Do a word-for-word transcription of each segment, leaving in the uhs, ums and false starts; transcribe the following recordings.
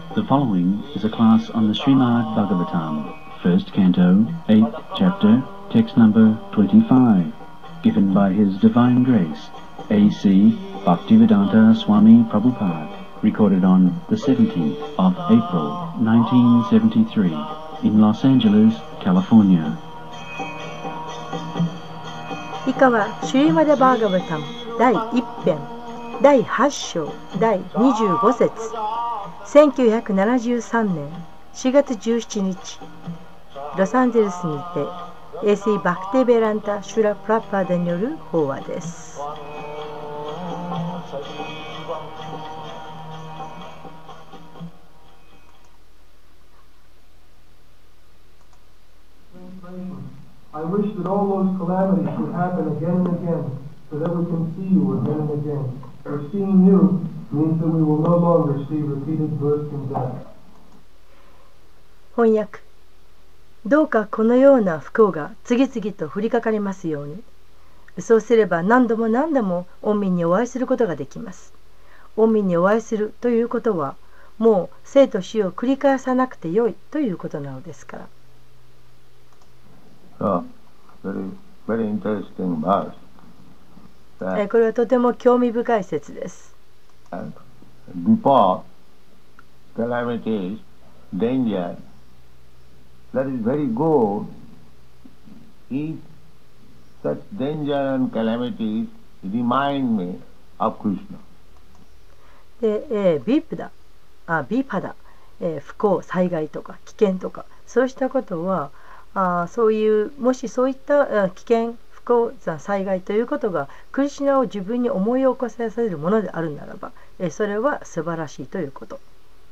The following is a class on the Srimad Bhagavatam, first canto, eighth chapter, text number twenty-five, given by His Divine Grace, A C Bhaktivedanta Swami Prabhupada, recorded on the seventeenth of April, nineteen seventy-three, in Los Angeles, California. 以下はシュリマダ・バーガバタムだいいち編だいはち章だいにじゅうご節せんきゅうひゃくななじゅうさんねんしがつじゅうしちにちロサンゼルスにて エーシー バクティベランタ・シュラ・プラパーダによる法話です。 I wish that all those calamities would happen again and again, so that we can see you again and again. For seeing you means that we will no longer see repeated birth and death. 翻訳。どうかこのような不幸が次々と降りかかりますように。そうすれば何度も何度も御身にお会いすることができます。御身にお会いするということは、もう生と死を繰り返さなくてよいということなのですから。 So, very, very interesting verse. これはとても興味深い説です。 Before calamities, danger, that is very good if such danger and calamities remind me of Krishna. で、えー、ビープだ、あ、ビーパだ、えー、不幸、災害とか危険とか、そうしたことは、あそういうもしそういった危険不幸災害ということがクリシュナを自分に思い起こさせるものであるならば、えそれは素晴らしいということ。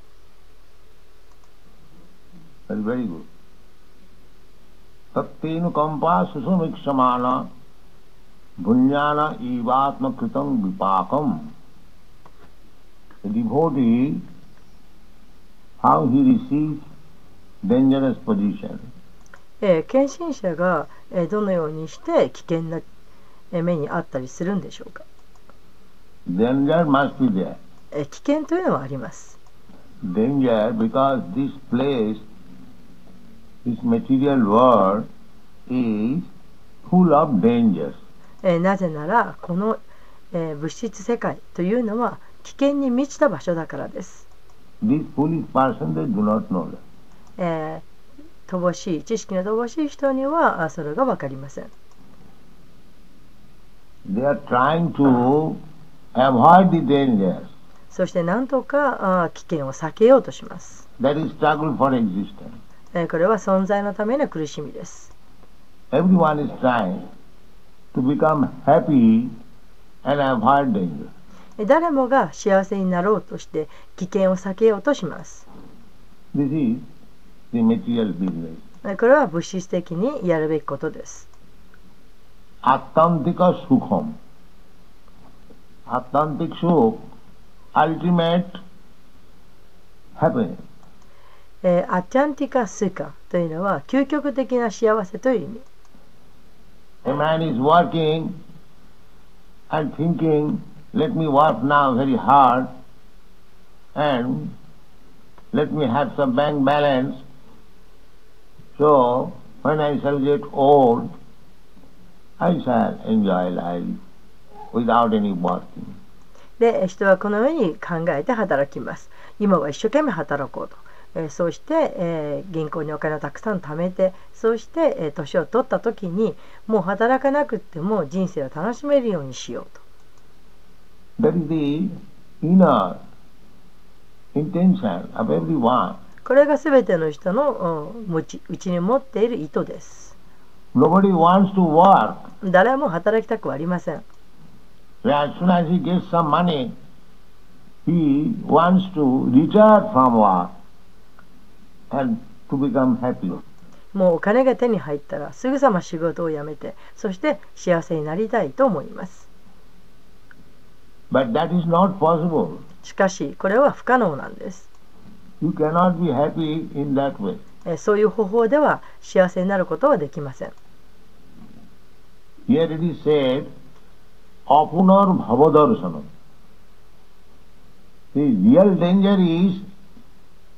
Very good. タッティヌカンパススミクシャマナブンヤナイバートナクタンビパーカム The devotee, how he receives dangerous position. えー、献身者が、えー、どのようにして危険な、えー、目にあったりするんでしょうか。 Danger must be there. えー、危険というのはあります。 Danger because this place, this material world is full of dangers. えー、なぜならこの、えー、物質世界というのは危険に満ちた場所だからです。 This foolish person, they do not know that. えー乏しい知識の乏しい人にはそれが分かりません。 They are trying to avoid the dangers. そして何とか危険を避けようとします。 That is struggle for existence. これは存在のための苦しみです。 Everyone is trying to become happy and avoid danger. 誰もが幸せになろうとして危険を避けようとします。 This is the material business. これは物質的にやるべきことです。 アッタンティカスフコム。アッタンティクシュ、ultimate happiness. えー、アチャンティカスカというのは究極的な幸せという意味。 A man is working and thinking, let me work now very hard and let me have some bank balance.So, when I shall get old, I shall enjoy life without any working. で、人はこのように考えて働きます。今は一生懸命働こうと。えー、そうして、えー、銀行にお金をたくさん貯めて、そうして、えー、年を取った時に、もう働かなくっても人生を楽しめるようにしようと。That is the inner intention of everyone. これがすべての人のうちに持っている意図です。 Nobody wants to work. 誰も働きたくはありません。 As soon as he gets some money, he wants to retire from work and to become happy. もうお金が手に入ったらすぐさま仕事を辞めて、そして幸せになりたいと思います。 But that is not possible. しかし、これは不可能なんです。 You cannot be happy in that way. そういう方法では幸せになることはできません。 Here it is said, Apunar Bhavadarsanam. The real danger is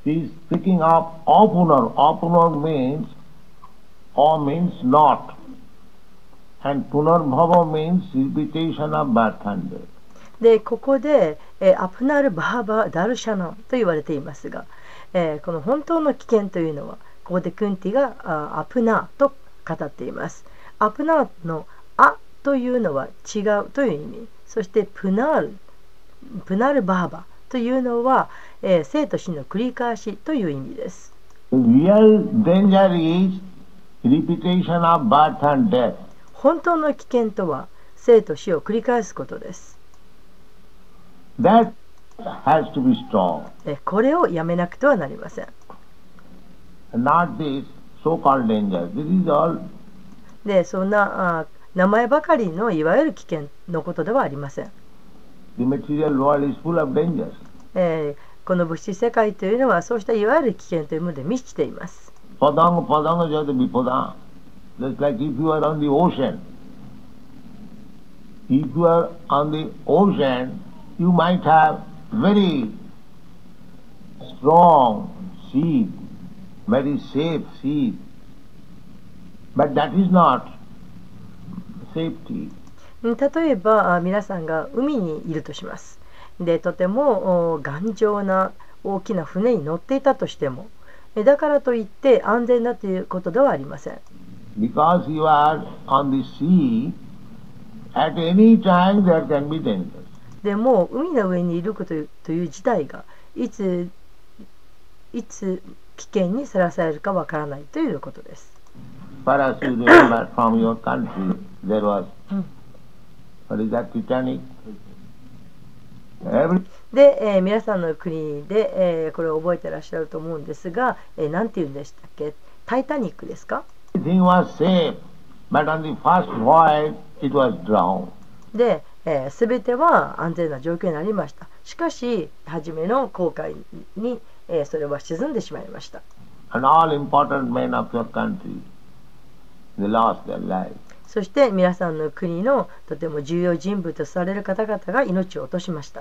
He is speaking of opener. Opener means or means not. And punarbhava means repetition of birth and death. でここで、えーアプナール・バハバ・ダルシャナンと言われていますが、えーこの本当の危険というのはここでクンティがあアプナーと語っています。アプナーのアというのは違うという意味、そしてプナールプナール・バハバというのは、えー生と死の繰り返しという意味です。 The real danger is repetition of birth and death. 本当の危険とは生と死を繰り返すことです。 That has to be stopped. えーこれをやめなくてはなりません。 Not this so-called danger. This is all でそんなあ名前ばかりのいわゆる危険のことではありません。 the material world is full of dangers. えーこの物質世界というのはそうしたいわゆる危険というもので満ちています。 Padang padang jata vipada. Just like if you are on the ocean. If you are on the ocean, you might have very strong sea, very safe sea. But that is not safety. うん例えばあ皆さんが海にいるとします。でとてもお頑丈な大きな船に乗っていたとしても、えだからといって安全だということではありません。 Because you are on the sea, at any time there can be dangers. でも海の上にいることという事態がいついつ危険にさらされるかわからないということです。 Perhaps you remember from your country there was, Mm. what is that, Titanic? Every で、えー皆さんの国で、えーこれを覚えてらっしゃると思うんですが、えー、なんて言うんでしたっけ？タイタニックですか？ everything was safe, but on the first voyage it was drowned. で、えー、全ては安全な状況になりました。しかし初めの航海に、えーそれは沈んでしまいました。 And all important men of your country, they lost their lives. そして皆さんの国のとても重要人物とされる方々が命を落としました。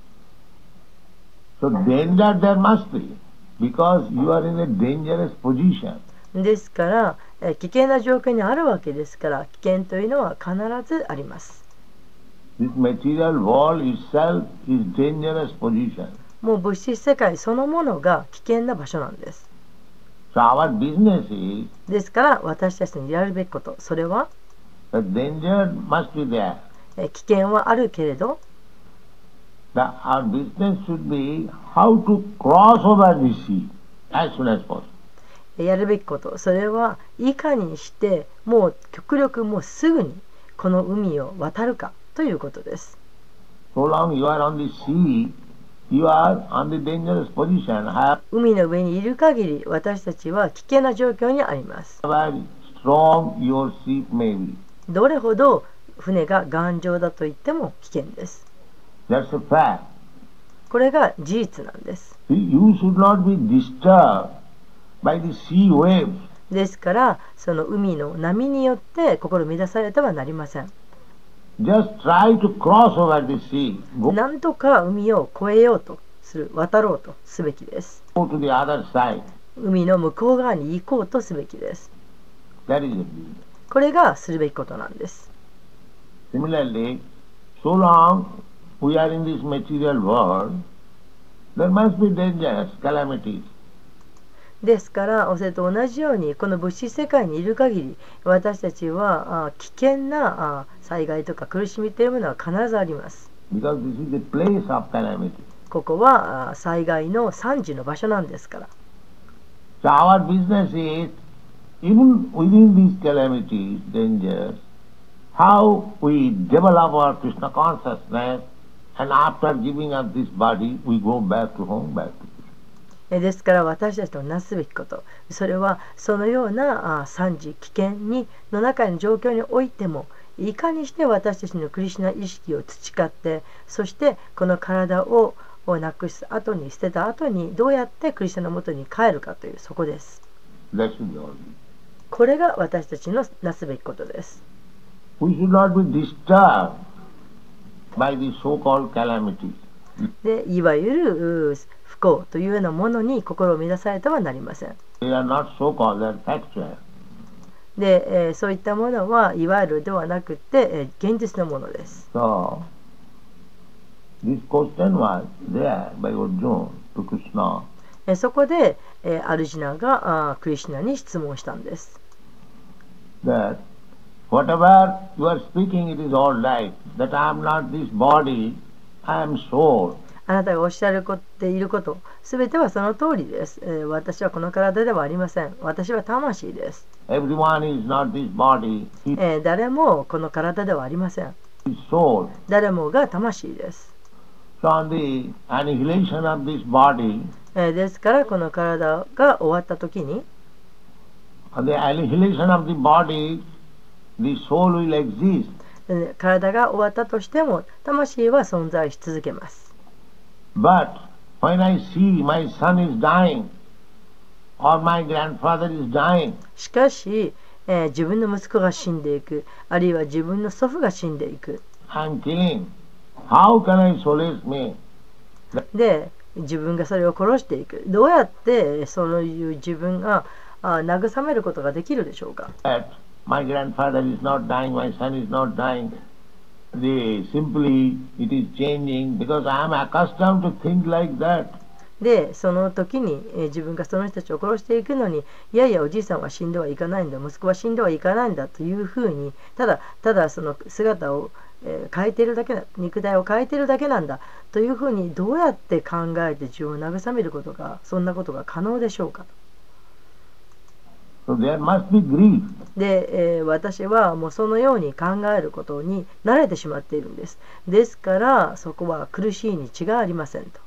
So danger there must be, because you are in a dangerous position. ですから、えー危険な状況にあるわけですから、危険というのは必ずあります。 This material world itself is dangerous position. もう物質世界そのものが危険な場所なんです。 So our business is ですから私たちにやるべきこと、それは the danger must be there. えー危険はあるけれど、 The, our business should be how to cross over the sea as soon as possible. やるべきこと、それはいかにしてもう極力もうすぐにこの海を渡るかということです。 So long you are on the sea, you are on the dangerous position. However 海の上にいる限り私たちは危険な状況にあります。 strong your ship may be. どれほど船が頑丈だと言っても危険です。 That's a fact. これが事実なんです。 See, you should not be disturbed by the sea waves. ですからその海の波によって心乱されてはなりません。 Just try to cross over the sea. Go なんとか海を越えようとする、渡ろうとすべきです。 to the other side. 海の向こう側に行こうとすべきです。 That is the business. これがするべきことなんです。 Similarly, so long we are in this material world, there must be dangers, calamities. ですからおそれと同じようにこの物質世界にいる限り私たちはあ危険なあ災害とか苦しみというものは必ずあります。 Because this is the place of calamity. ここはあ災害の惨事の場所なんですから。 So our business is, even within these calamities, dangers, how we develop our Krishna consciousness, and after giving up this body, we go back to home, back to Krishna. えですから私たちのなすべきこと、それはそのようなあ惨事危険にの中の状況においてもいかにして私たちのクリシュナ意識を培って、そしてこの体ををなくす後に捨てた後にどうやってクリシュナのもとに帰るかというそこです。 That should be all. これが私たちのなすべきことです。 We should not be disturbed by the so-called calamities. でいわゆるう不幸というようなものに心を乱されてはなりません。 They are not so-called, they are factual. で、えーそういったものはいわゆるではなくて、えー現実のものです。 So, this question was there by Arjuna to Krishna. えーそこで、えーアルジナがあークリシュナに質問したんです。 That whatever you are speaking, it is all right. That I am not this body, I am soul. あなたがおっしゃるっていること、すべてはその通りです、えー私はこの体ではありません。私は魂です。 Everyone is not this body, he えー誰もこの体ではありません。 is soul. 誰もが魂です。 So on the annihilation of this body, えーですからこの体が終わった時に、 on the annihilation of the body, the soul will exist. えー体が終わったとしても魂は存在し続けます。 But when I see my son is dying, or my grandfather is dying, しかし、えー自分の息子が死んでいく、あるいは自分の祖父が死んでいく。 I am killing. How can I solace me? で、自分がそれを殺していく。どうやってそういう自分があ慰めることができるでしょうか。 That my grandfather is not dying, my son is not dying. The, simply it is changing because I am accustomed to think like that. で、その時に、えー自分がその人たちを殺していくのに、いやいやおじいさんは死んではいかないんだ、息子は死んではいかないんだというふうに、ただただその姿を、えー変えているだけだ、肉体を変えているだけなんだというふうにどうやって考えて自分を慰めることが、そんなことが可能でしょうか。 So there must be grief. で、えー私はもうそのように考えることに慣れてしまっているんです。ですからそこは苦しいに違いありませんと。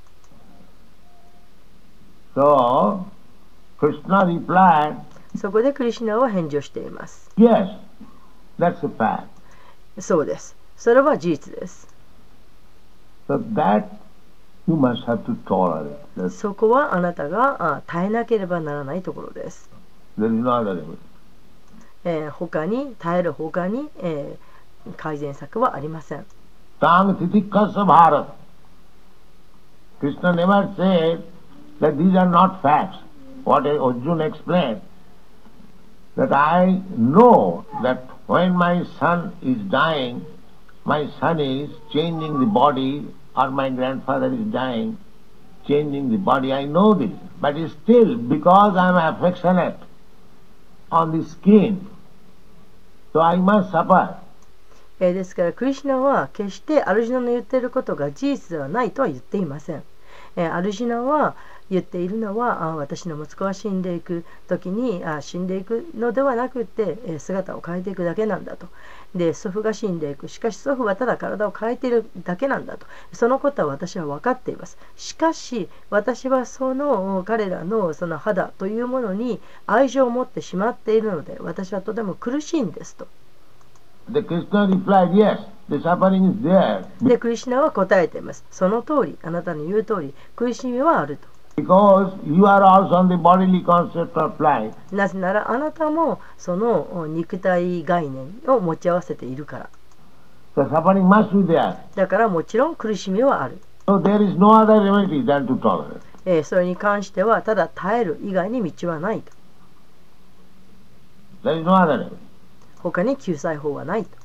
So Krishna replied, そこでクリシュナは返事をしています。 yes, that's a fact. そうです。それは事実です。 So that you must have to tolerate. That's, そこはあなたがあ耐えなければならないところです。 there is no other remedy. えー他に耐える他に、えー改善策はありません。 Tang titikasa bharat. Krishna never said that these are not facts. What Arjuna explained, that I know that when my son is dying, my son is changing the body, or my grandfather is dying, changing the body. I know this, but still, because I am affectionate on the skin, so I must suffer. えーですからクリシュナは決してアルジュナの言っていることが事実ではないとは言っていません。えーアルジュナは言っているのはあ私の息子が死んでいく時にあ死んでいくのではなくて、えー姿を変えていくだけなんだと。で祖父が死んでいく、しかし祖父はただ体を変えているだけなんだと。そのことは私は分かっています。しかし私はその彼らのその肌というものに愛情を持ってしまっているので私はとても苦しいんですと。 The Krishna replied, yes, the suffering is there, でクリシュナは答えています。その通り、あなたの言う通り苦しみはあると。 because you are also on the bodily concept of life. なぜならあなたもその肉体概念を持ち合わせているから。 So suffering must be there. だからもちろん苦しみはある。 So there is no other remedy than to tolerate. えーそれに関してはただ耐える以外に道はないと。 There is no other remedy. 他に救済法はないと。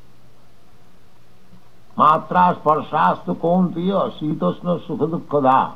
Matra sparsastu kontiya sitosna sukhadukkada.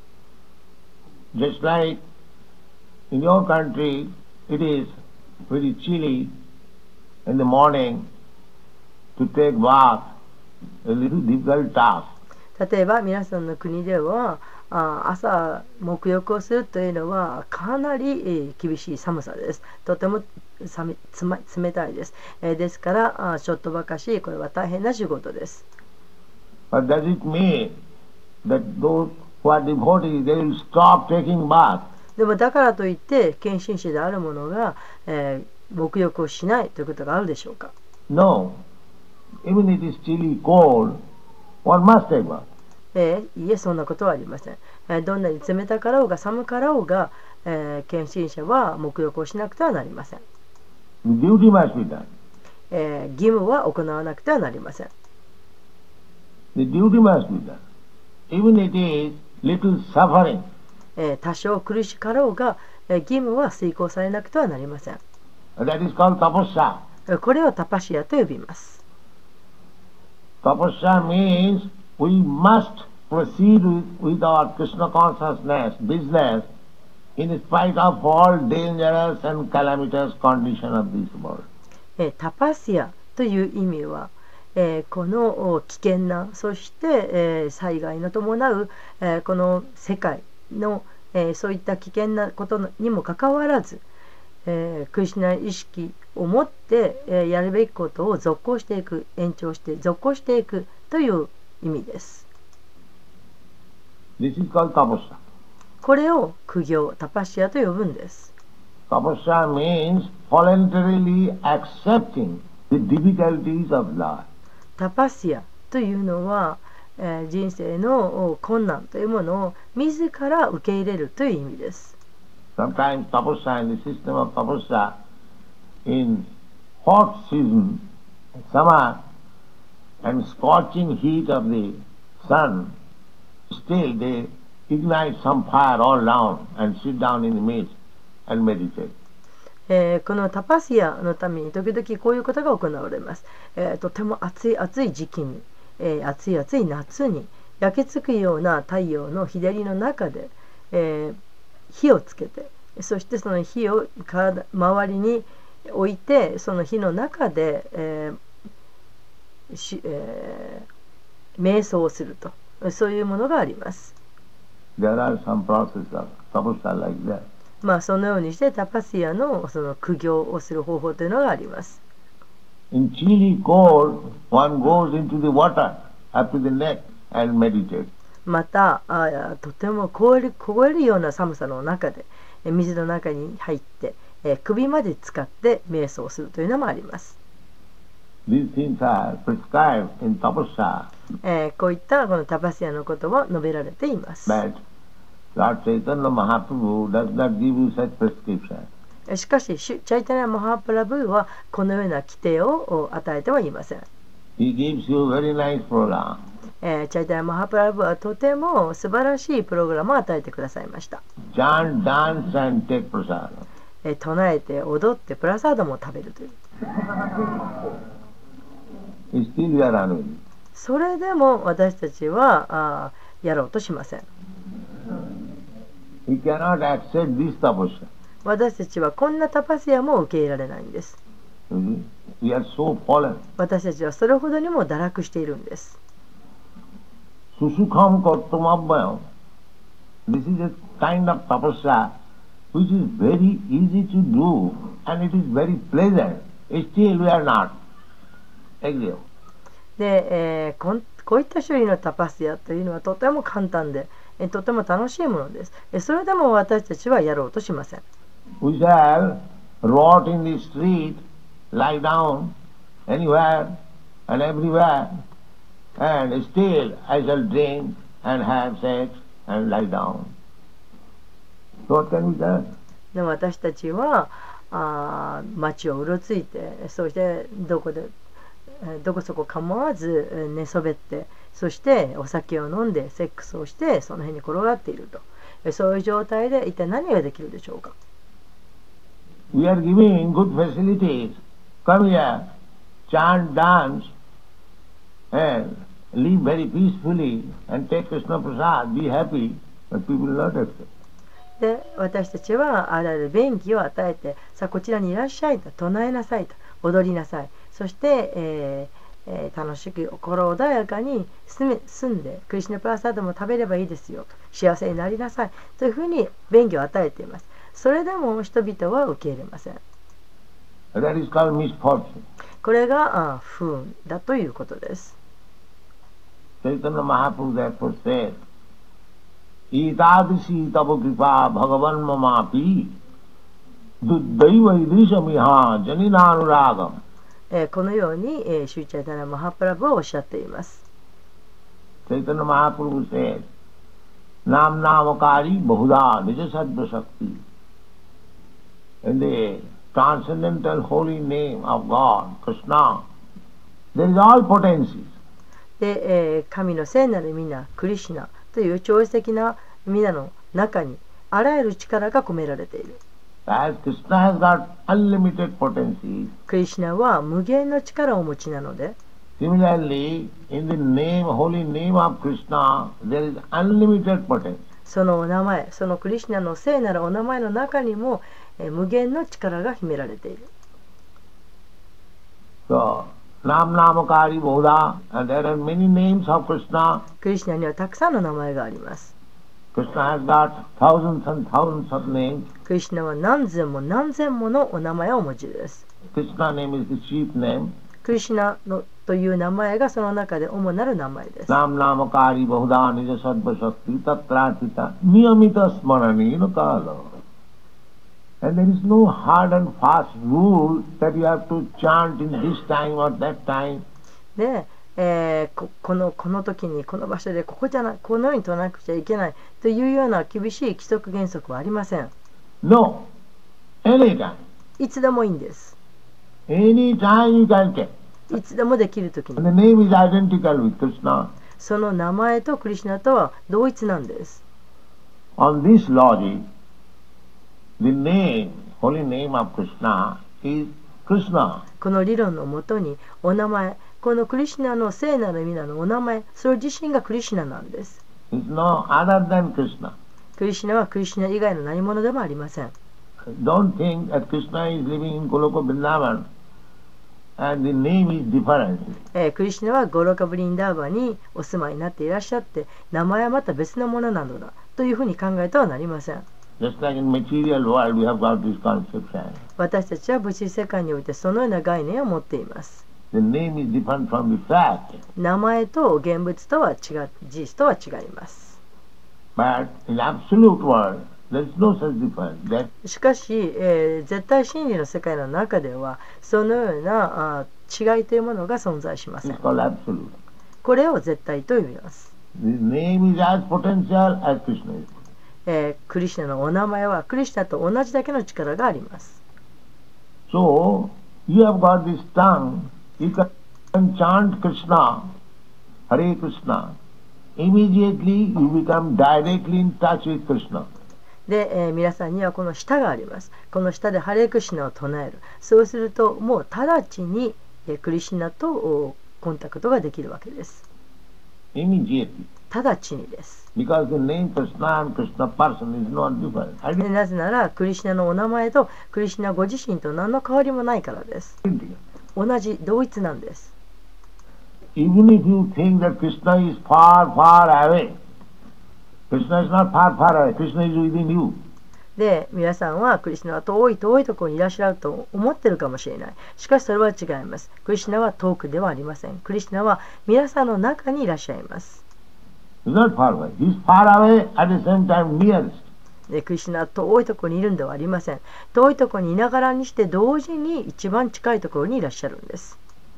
Just like in your country, it is very chilly in the morning to take bath, a little difficult task. 例えば皆さんの国ではあ朝沐浴をするというのはかなり、えー厳しい寒さです。とても冷つま冷たいです。えーですからあちょっとばかしこれは大変な仕事です。 But does it mean that those who are devotees, they will stop taking bath? でもだからといって献身者である者が、えー沐浴をしないということがあるでしょうか。 No. Even it is chilly, cold, one must take bath. えーいえそんなことはありません。えーどんなに冷たかろうが寒かろうが、えー献身者は沐浴をしなくてはなりません。 The duty must be done. えー義務は行わなくてはなりません。 The duty must be done. Even it is little suffering, えー、多少苦しかろうが、えー、義務は遂行されなくてはなりません。 That is called tapasya. これをタパシアと呼びます。 Tapasya means we must proceed with, with our Krishna consciousness, business, in spite of all dangerous and calamitous condition of this world. えー、タパシアという意味は、えー、この危険な、そして、えー、災害の伴う、えー、この世界の、えー、そういった危険なことにもかかわらず、えー、クリシュナ意識を持って、えー、やるべきことを続行していく、延長して続行していくという意味です。 This is called tapasya. これを苦行、タパシアと呼ぶんです。 Tapasya means voluntarily accepting the difficulties of life. タパシアというのは、えー、人生の困難というものを自ら受け入れるという意味です。 Sometimes tapasya, in the system of tapasya, in hot season, summer, and scorching heat of the sun, still they ignite some fire all round and sit down in the midst and meditate. えー、このタパシアのために時々こういうことが行われます。えー、とても暑い暑い時期に、えー、暑い暑い夏に焼けつくような太陽の日照りの中で、えー、火をつけて、そしてその火を体周りに置いて、その火の中で、えーしえー、瞑想をすると、そういうものがあります。 There are some processes of tapasya like that. まあそのようにしてタパシアのその苦行をする方法というのがあります。 In chilly cold, one goes into the water up to the neck and meditate. またあとても凍える、凍えるような寒さの中で水の中に入って、えー、首まで使って瞑想するというのもあります。 These things are prescribed in tapasya. えー、こういったこのタパシアのことを述べられています。 But Lord Chaitanya Mahaprabhu does not give you such prescription. しかし、シュチャイタニャ・マハプラブーはこのような規定を与えてはいません。 He gives you very nice program. えー、チャイタニャ・マハプラブーはとても素晴らしいプログラムを与えてくださいました。 Chant, dance and take prasad. えー、唱えて踊ってプラサードも食べるという。 Still we are unwilling. それでも私たちはあやろうとしません。 We cannot accept this tapasya. 私たちはこんなタパシアも受け入れられないんです。 We are so fallen. 私たちはそれほどにも堕落しているんです。 Susukham kartamabhyam. This is a kind of tapasya which is very easy to do and it is very pleasant. Still we are not. Agree. で、えー、こんこういった種類のタパシアというのはとても簡単で、えとても楽しいものです。それでも私たちはやろうとしません。 We shall rot in the street, lie down anywhere and everywhere, and still I shall drink and have sex and lie down. So what can we do? でも私たちはあ街をうろついて、そしてどこでどこそこ構わず寝そべって、そしてお酒を飲んでセックスをしてその辺に転がっていると、そういう状態で一体何ができるでしょうか。 We are giving good facilities. Come here, chant, dance, and live very peacefully and take Krishna Prasad, be happy, but people will not accept. で私たちはあらゆる便宜を与えて、さあこちらにいらっしゃいと、唱えなさいと、踊りなさい、そして、えーえー、楽しく心穏やかに住め住んでクリシュナプラサードも食べればいいですよと、幸せになりなさいというふうに便宜を与えています。それでも人々は受け入れません。 That is called misfortune. これがあ不運だということです。 Chaitanya Mahaprabhu therefore said, Itadisi tava kripa bhagavan mamapi duddaiva idrisamiha janinanuragam. えー、このように、えー、シューチャイタナ・マハプラブはおっしゃっています。 Chaitanya Mahaprabhu said, Nam namakari bahuda nijasattva shakti. In the transcendental holy name of God, Krishna, there is all potencies. で、えー、神の聖なる皆、クリシュナという超越的な皆の中に、 あらゆる力が込められている。 As Krishna has got unlimited potency, クリシュナは無限の力をお持ちなので、 similarly, in the name, holy name of Krishna, there is unlimited potency. そのお名前、そのクリシュナの聖なるお名前の中にも、えー無限の力が秘められている。 So, Nam Namakari Bodha, and there are many names of Krishna. クリシュナにはたくさんの名前があります。 Krishna has got thousands and thousands of names. クリシュナは何千も何千ものお名前をお持ちです。 Krishna name is the chief name. クリシュナのという名前がその中で主なる名前です。 Nam Namakari Bodha Nija Sattva Shakti Tatratita Niyamita Smaranena Kala. And there is no hard and fast rule that you have to chant in this time or that time. で、えーこ、このこの時にこの場所でここじゃなこのように唱えなくちゃいけないというような厳しい規則原則はありません。 No. Anytime. いつでもいいんです。 Anytime you can get. いつでもできる時 And に。 the name is identical with Krishna. その名前とクリシュナとは同一なんです。 On this logic, the name, holy name of Krishna is Krishna. この理論のもとにお名前、このクリシュナの聖なる皆のお名前、それ自身がクリシュナなんです。 Is no other than Krishna. クリシュナはクリシュナ以外の何者でもありません。 Don't think that Krishna is living in Goloka Vrindavan and the name is different. えークリシュナはゴロカブリンダーバにお住まいになっていらっしゃって、名前はまた別のものなのだというふうに考えてはなりません。 Just like in material world we have got this conception. 私たちは物質世界においてそのような概念を持っています。 The name is different from the fact. 名前と現物とは違う、事実とは違います。 But in absolute world, there is no such difference. That しかし、えー絶対真理の世界の中ではそのようなあ違いというものが存在しません。 is called absolute. これを絶対と呼びます。 The name is as potential as Krishna is. えークリシュナのお名前はクリシュナと同じだけの力があります。 So, you have got this tongue, you can chant Krishna, Hare Krishna. Immediately you become directly in touch with Krishna. で、えー皆さんにはこの舌があります。この舌でハレークシュナを唱える。そうするともう直ちに、えークリシュナとおコンタクトができるわけです。 Immediately. 直ちにです。 Because the name Krishna and Krishna person is not different. でなぜならクリシュナのお名前とクリシュナご自身と何の変わりもないからです。 Identical. 同じ同一なんです。 Even if you think that Krishna is far, far away, Krishna is not far, far away. Krishna is within you. で皆さんはクリシュナは遠い遠いところにいらっしゃると思ってるかもしれない。しかしそれは違います。クリシュナは遠くではありません。クリシュナは皆さんの中にいらっしゃいます。 He's not far away. He's far away at the same time nearest. でクリシュナは遠いところにいるんではありません。遠いところにいながらにして同時に一番近いところにいらっしゃるんです。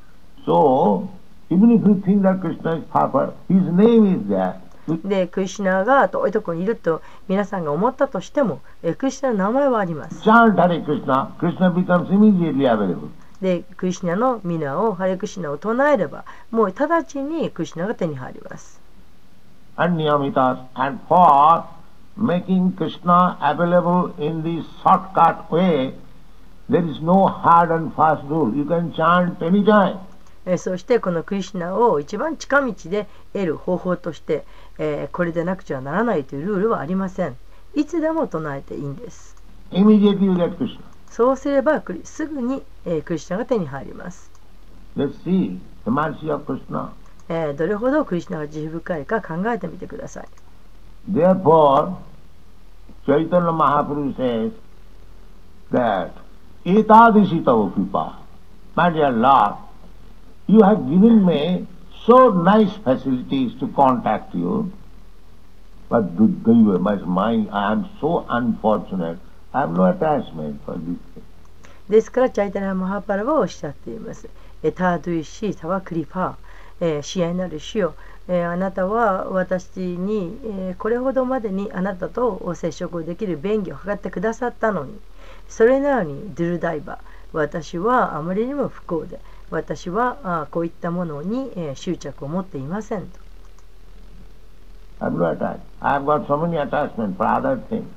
So, even if you think that Krishna is far, far, his name is there. でクリシュナが遠いところにいると皆さんが思ったとしても、えクリシュナの名前はあります。 Chant Hare Krishna, Krishna becomes immediately available. でクリシュナの皆をハレクシュナを唱えればもう直ちにクリシュナが手に入ります。 And Niyamitas, and for making Krishna available in the shortcut way, there is no hard and fast rule. You can chant anytime. えそしてこのクリシュナを一番近道で得る方法として、えーこれでなくちゃならないというルールはありません。いつでも唱えていいんです。 Immediately you get Krishna. そうすればクリすぐに、えークリシュナが手に入ります。 Let's see the mercy of Krishna. えーどれほどクリシュナが慈悲深いか考えてみてください。 Therefore, Chaitanya Mahaprabhu says that Etadisi tava kripa. My dear Lord, you have given me so nice facilities to contact you, but my mind, I am so unfortunate. I have no attachment for this thing. ですからチャイタニャマハパラはおっしゃっています。エタドゥイシタワクリパー、えー、支援なる主よ、えー、あなたは私に、えー、これほどまでにあなたと接触できる便宜を図ってくださったのに、それなのにドゥルダイバ、私はあまりにも不幸で、私はあこういったものに、えー、執着を持っていませんと。 I have no attachment. I have got so many attachments for other things.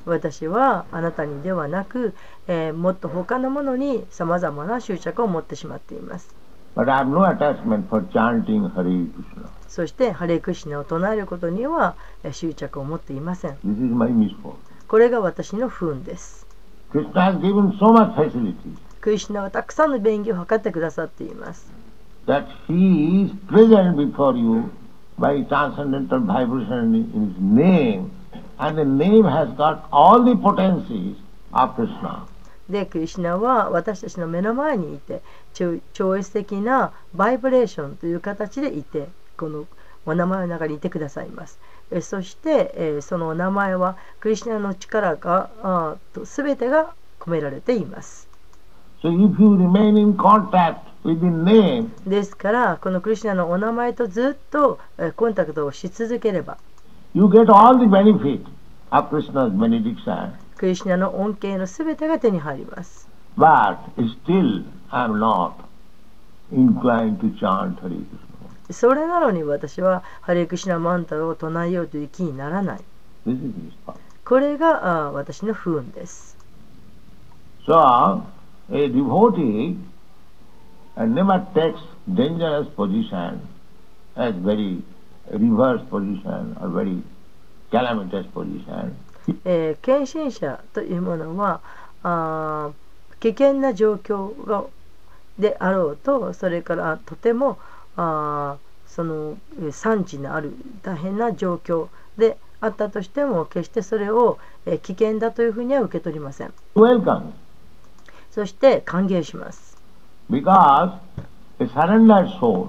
私はあなたにではなく、えーもっと他のものにさまざまな執着を持ってしまっています。 But I have no attachment for chanting Hare Krishna. そしてハレクシナを唱えることにはえー執着を持っていません。 This is my misfortune. これが私の不運です。 Krishna has given so much facilities クリシュナはたくさんの便宜を図ってくださっています。 that he is present before you by transcendental vibration in his name, and the name has got all the potencies of Krishna. で、クリシュナは私たちの目の前にいて、超超越的なバイブレーションという形でいて、このお名前の中にいてくださいます。えそして、えーそのお名前はクリシュナの力があーと全てが込められています。 So if you remain in contact with the name, ですからこのクリシュナのお名前とずっとえーコンタクトをし続ければ、 you get all the benefit of Krishna's benediction. クリシュナの恩恵の全てが手に入ります。 But still I am not inclined to chant Hare Krishna. それなのに私はハレクシナマンタラを唱えようという気にならない。 This is his power. これがあー私の不運です。 So a devotee uh, never takes dangerous position as very reverse position or very calamitous position. えー献身者というものはあー危険な状況がであろうと、それからとてもあーそのえー惨事のある大変な状況であったとしても、決してそれを、えー危険だというふうには受け取りません。 Welcome. そして歓迎します。 Because a surrendered soul,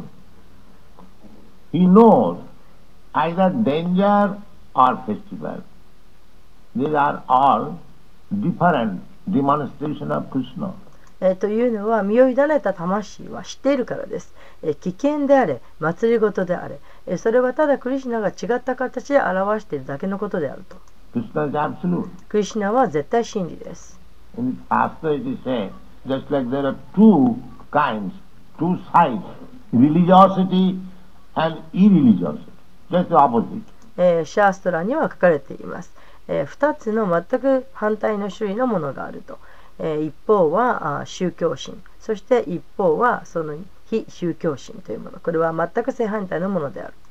he knows either danger or festival. These are all different demonstration of Krishna. えーというのは、身を委ねた魂は知っているからです。えー危険であれ、祭りごとであれ、えーそれはただクリシュナが違った形で表しているだけのことであると。 Krishna is absolute. クリシュナは絶対真理です。 In the Shastra it is said, just like there are two kinds, two sides, religiosity and irreligiosity, just the opposite. えーシャーストラには書かれています。えー、ふたつの全く反対の種類のものがあると。えー一方はあ宗教心、そして一方はその非宗教心というもの。これは全く正反対のものである。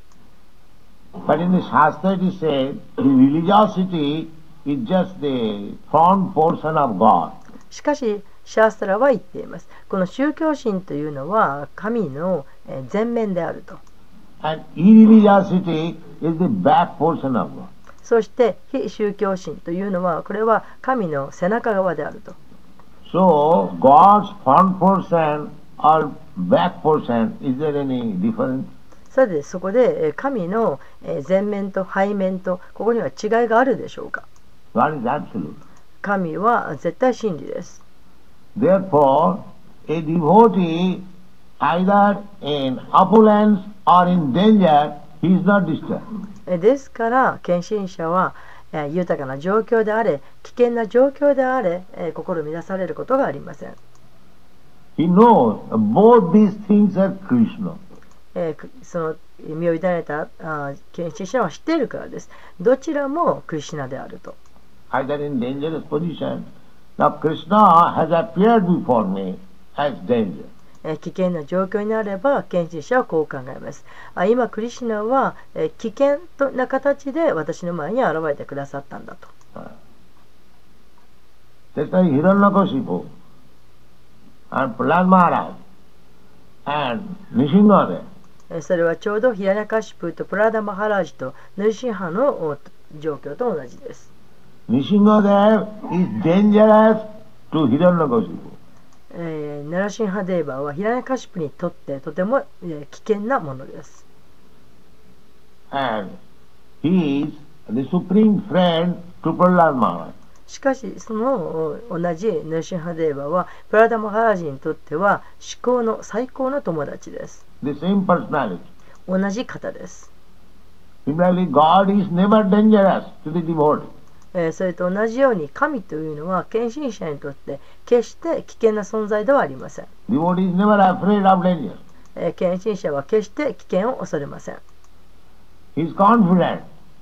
But in the Shastra it is said, the religiosity is just the front portion of God. しかし、シャーストラは言っています。この宗教心というのは神のえー前面であると。 And irreligiosity is the back portion of God. そして非宗教心というのは、これは神の背中側であると。 So God's front portion or back portion, is there any difference? さて、そこでえー神のえー前面と背面とここには違いがあるでしょうか。 God is absolute. 神は絶対真理です。 Therefore, a devotee, either in opulence or in danger, he is not disturbed. えーですから献身者はえー豊かな状況であれ、危険な状況であれ、えー心乱されることがありません。 He knows both these things are Krishna. えーくその身を委ねたあー献身者は知っているからです。どちらもクリシュナであると。 Either in dangerous position. Now Krishna has appeared before me as danger. えー危険な状況になれば献身者はこう考えます。あ今クリシュナは、えー危険とな形で私の前に現れてくださったんだと。 Just like Hiranyakashipu and Prahlad Maharaj and Nishingadev. えーそれはちょうどヒラニャカシプとプラダマハラジとヌルシンハのお状況と同じです。 Nishingadev is dangerous to Hiranyakashipu. えー、ナラシンハデーバーはヒラニャカシプにとってとても、えー危険なものです。 And he is the supreme friend to Prahlad Maharaj. しかしそのお同じヌルシンハデーバーはプラダマハラジにとっては至高の最高の友達です。 The same personality. 同じ方です。 Similarly, God is never dangerous to the devotee. えーそれと同じように神というのは献身者にとって決して危険な存在ではありません。 Devotee is never afraid of danger. えー献身者は決して危険を恐れません。 He is confident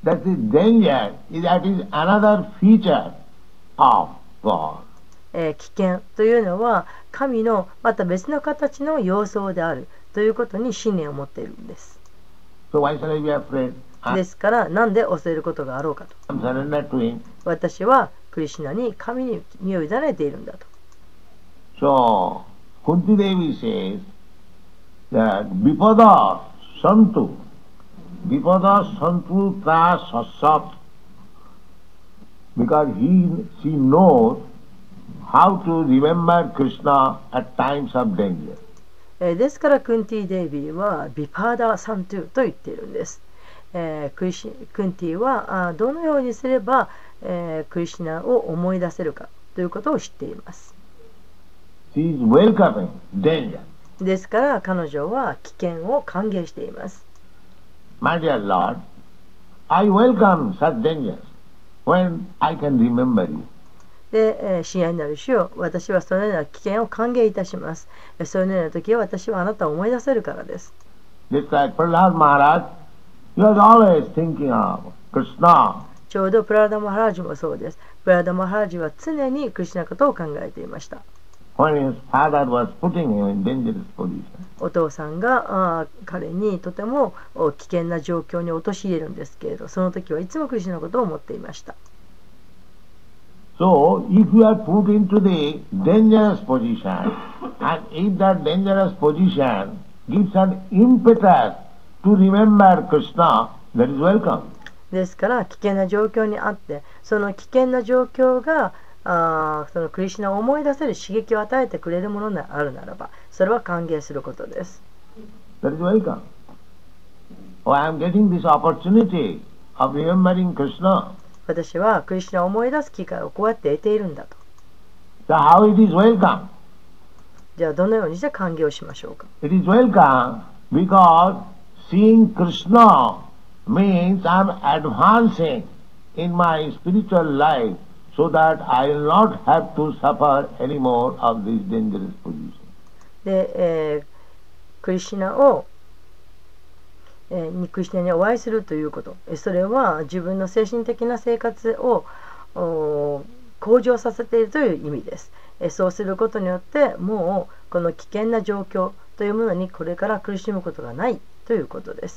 That is danger, that is another feature of God. えー危険というのは神のまた別の形の様相であるということに信念を持っているんです。 So why shall I be afraid? ですから何で恐れることがあろうかと。 I'm surrendered to him. 私はクリシュナに神に身を委ねているんだと。 So Kunti Devi says that Vipada Santu, Vipada Santu Ta Sassat, because he, she knows how to remember Krishna at times of danger. えーですからクンティ・デイビーはビパーダ・サントゥと言っているんです。えークリシクンティはあどのようにすれば、えークリシュナを思い出せるかということを知っています。 She is welcoming danger. ですから彼女は危険を歓迎しています。 My dear Lord, I welcome such dangers when I can remember you. で、えー親愛なる主よ、私はそのような危険を歓迎いたします。えーそういうような時は私はあなたを思い出せるからです。 Just like Prahlad Maharaj, he was always thinking of Krishna. ちょうどプラダマハラージュもそうです。プラダマハラージュは常にクリシュナのことを考えていました。 When his father was putting him in dangerous position. お父さんがあー彼にとてもお危険な状況に陥れるんですけれど、その時はいつもクリシュナのことを思っていました。 So, if you are put into the dangerous position, and if that dangerous position gives an impetus to remember Krishna, that is welcome. ですから危険な状況にあって、その危険な状況があーそのクリシュナを思い出せる刺激を与えてくれるものであるならば、それは歓迎することです。 That is welcome. Oh, I am getting this opportunity of remembering Krishna. 私はクリシュナを思い出す機会をこうやって得ているんだと。 So how it is welcome? じゃあどのようにして歓迎をしましょうか。 It is welcome because seeing Krishna means I am advancing in my spiritual life so that I will not have to suffer any more of this dangerous position. で、えークリシュナを、えーにクリシュナにお会いするということ、えそれは自分の精神的な生活をお向上させているという意味です。えそうすることによってもうこの危険な状況というものにこれから苦しむことがないということです。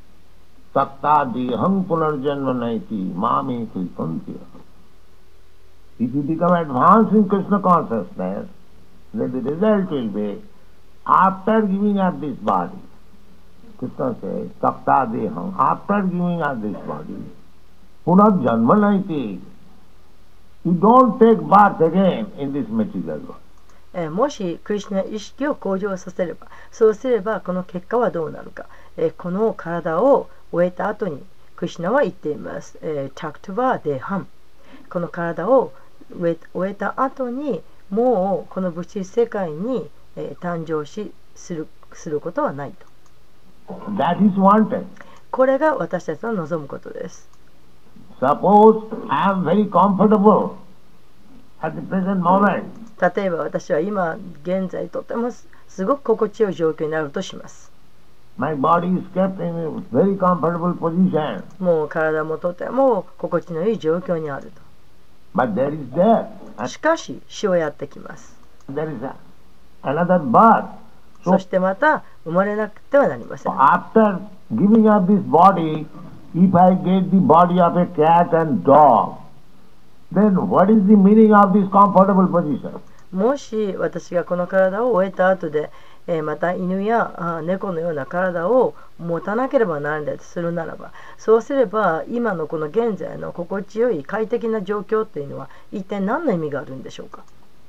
Sattadiham punarjanma naiti mami kritantiya. If you become advanced in Krishna consciousness, then the result will be after giving up this body. Krishna says, Sattadiham, after giving up this body, punarjanma naiti. You don't take birth again in this material world. えーもしクリシュナ意識を向上させれば、そうすればこの結果はどうなるか、えーこの体を終えた後にクリシュナは言っています。えー、タクトバデハン、この体を終え終えた後にもうこの物質世界に、えー誕生しするすることはないと。 That is wanted. これが私たちの望むことです。 Suppose I am very comfortable at the present moment. 例えば私は今現在とてもすすごく心地よい状況になるとします。 My body is kept in a very comfortable position. もう体もとても心地のいい状況にある But there is death. と。しかし死はやってきます。 There is a, another birth. そ So してまた生まれなくてはなりません。 after giving up this body, if I get the body of a cat and dog, then what is the meaning of this comfortable position? もし私がこの体を終えた後で、えーまた犬やあ猫のような体を持たなければならないとするならば、そうすれば今のこの現在の心地よい快適な状況っていうのは一体何の意味があるんでしょうか。